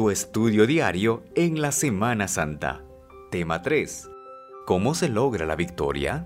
Tu estudio diario en la Semana Santa. Tema 3. ¿Cómo se logra la victoria?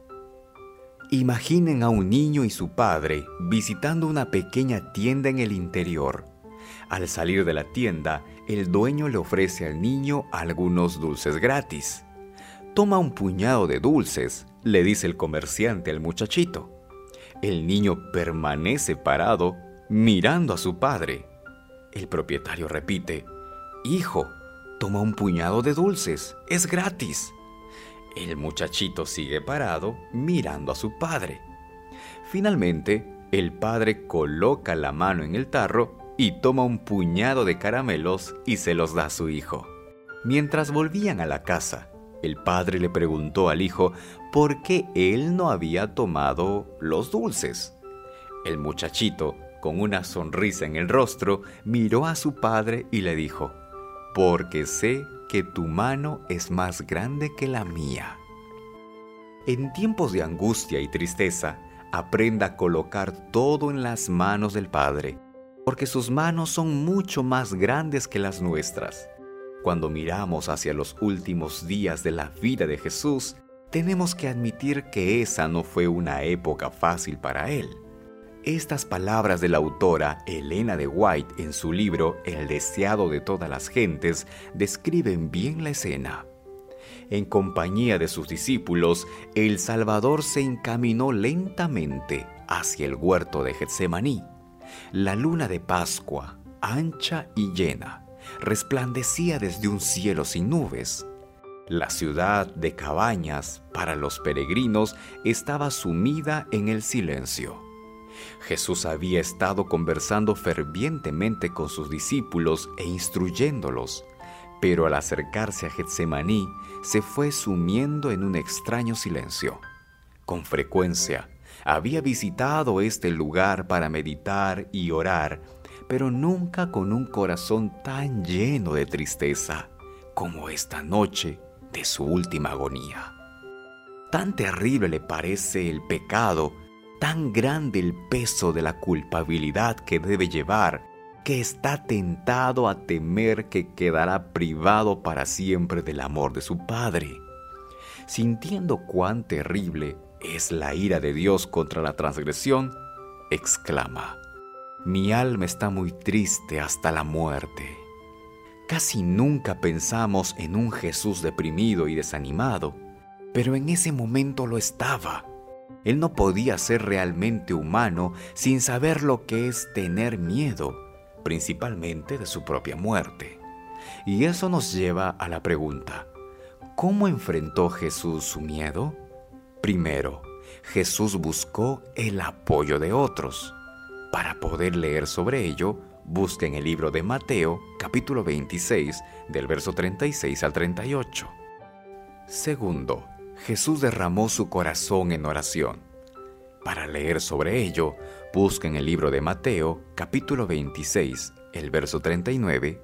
Imaginen a un niño y su padre visitando una pequeña tienda en el interior. Al salir de la tienda, el dueño le ofrece al niño algunos dulces gratis. Toma un puñado de dulces, le dice el comerciante al muchachito. El niño permanece parado, mirando a su padre. El propietario repite: «Hijo, toma un puñado de dulces, es gratis». El muchachito sigue parado, mirando a su padre. Finalmente, el padre coloca la mano en el tarro y toma un puñado de caramelos y se los da a su hijo. Mientras volvían a la casa, el padre le preguntó al hijo por qué él no había tomado los dulces. El muchachito, con una sonrisa en el rostro, miró a su padre y le dijo: «Porque sé que tu mano es más grande que la mía». En tiempos de angustia y tristeza, aprenda a colocar todo en las manos del Padre, porque sus manos son mucho más grandes que las nuestras. Cuando miramos hacia los últimos días de la vida de Jesús, tenemos que admitir que esa no fue una época fácil para él. Estas palabras de la autora Elena de White en su libro El deseado de todas las gentes describen bien la escena. En compañía de sus discípulos, el Salvador se encaminó lentamente hacia el huerto de Getsemaní. La luna de Pascua, ancha y llena, resplandecía desde un cielo sin nubes. La ciudad de cabañas para los peregrinos estaba sumida en el silencio. Jesús había estado conversando fervientemente con sus discípulos e instruyéndolos, pero al acercarse a Getsemaní se fue sumiendo en un extraño silencio. Con frecuencia había visitado este lugar para meditar y orar, pero nunca con un corazón tan lleno de tristeza como esta noche de su última agonía. Tan terrible le parece el pecado, tan grande el peso de la culpabilidad que debe llevar, que está tentado a temer que quedará privado para siempre del amor de su Padre. Sintiendo cuán terrible es la ira de Dios contra la transgresión, exclama: «Mi alma está muy triste hasta la muerte». Casi nunca pensamos en un Jesús deprimido y desanimado, pero en ese momento lo estaba. Él no podía ser realmente humano sin saber lo que es tener miedo, principalmente de su propia muerte. Y eso nos lleva a la pregunta: ¿cómo enfrentó Jesús su miedo? Primero, Jesús buscó el apoyo de otros. Para poder leer sobre ello, busquen el libro de Mateo, capítulo 26, del verso 36 al 38. Segundo, Jesús derramó su corazón en oración. Para leer sobre ello, busquen el libro de Mateo, capítulo 26, el verso 39,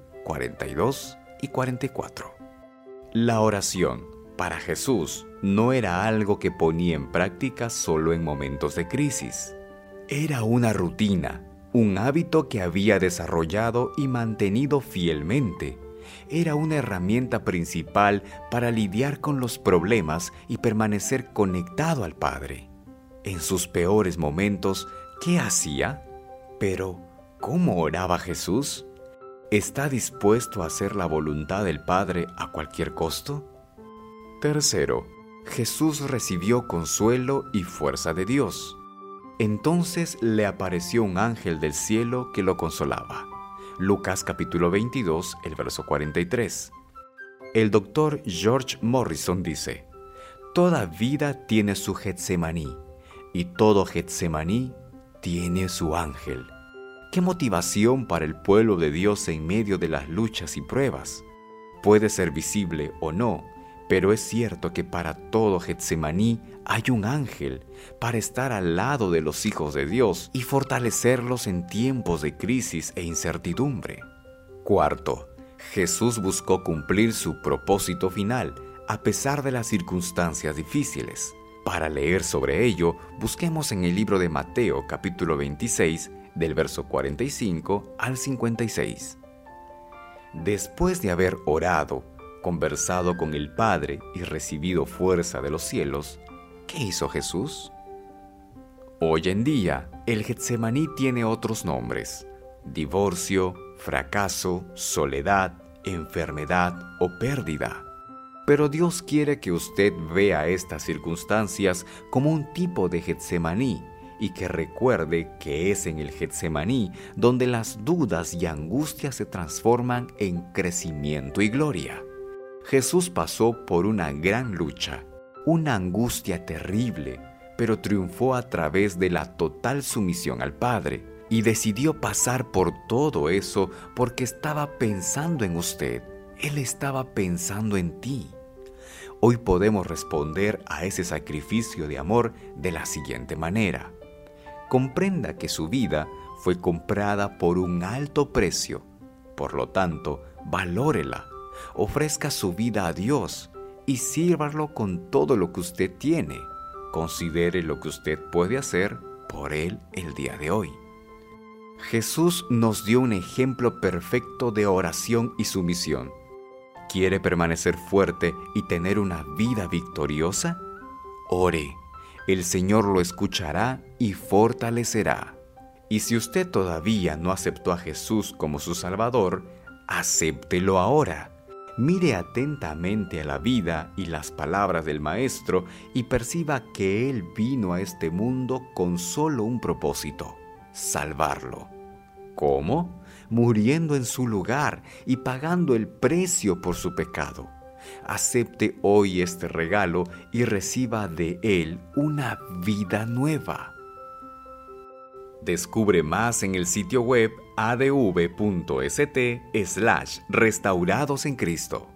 42 y 44. La oración, para Jesús, no era algo que ponía en práctica solo en momentos de crisis. Era una rutina, un hábito que había desarrollado y mantenido fielmente. Era una herramienta principal para lidiar con los problemas y permanecer conectado al Padre. En sus peores momentos, ¿qué hacía? Pero, ¿cómo oraba Jesús? ¿Está dispuesto a hacer la voluntad del Padre a cualquier costo? Tercero, Jesús recibió consuelo y fuerza de Dios. Entonces le apareció un ángel del cielo que lo consolaba. Lucas capítulo 22, el verso 43. El doctor George Morrison dice: «Toda vida tiene su Getsemaní, y todo Getsemaní tiene su ángel». ¿Qué motivación para el pueblo de Dios en medio de las luchas y pruebas? Puede ser visible o no, pero es cierto que para todo Getsemaní hay un ángel para estar al lado de los hijos de Dios y fortalecerlos en tiempos de crisis e incertidumbre. Cuarto, Jesús buscó cumplir su propósito final a pesar de las circunstancias difíciles. Para leer sobre ello, busquemos en el libro de Mateo, capítulo 26, del verso 45 al 56. Después de haber orado, conversado con el Padre y recibido fuerza de los cielos, ¿qué hizo Jesús? Hoy en día, el Getsemaní tiene otros nombres: divorcio, fracaso, soledad, enfermedad o pérdida. Pero Dios quiere que usted vea estas circunstancias como un tipo de Getsemaní y que recuerde que es en el Getsemaní donde las dudas y angustias se transforman en crecimiento y gloria. Jesús pasó por una gran lucha, una angustia terrible, pero triunfó a través de la total sumisión al Padre y decidió pasar por todo eso porque estaba pensando en usted. Él estaba pensando en ti. Hoy podemos responder a ese sacrificio de amor de la siguiente manera. Comprenda que su vida fue comprada por un alto precio. Por lo tanto, valórela, ofrezca su vida a Dios y sírvalo con todo lo que usted tiene. Considere lo que usted puede hacer por Él el día de hoy. Jesús nos dio un ejemplo perfecto de oración y sumisión. ¿Quiere permanecer fuerte y tener una vida victoriosa? Ore. El Señor lo escuchará y fortalecerá. Y si usted todavía no aceptó a Jesús como su Salvador, acéptelo ahora. Mire atentamente a la vida y las palabras del Maestro y perciba que Él vino a este mundo con solo un propósito: salvarlo. ¿Cómo? Muriendo en su lugar y pagando el precio por su pecado. Acepte hoy este regalo y reciba de Él una vida nueva. Descubre más en el sitio web adv.st/restaurados en Cristo.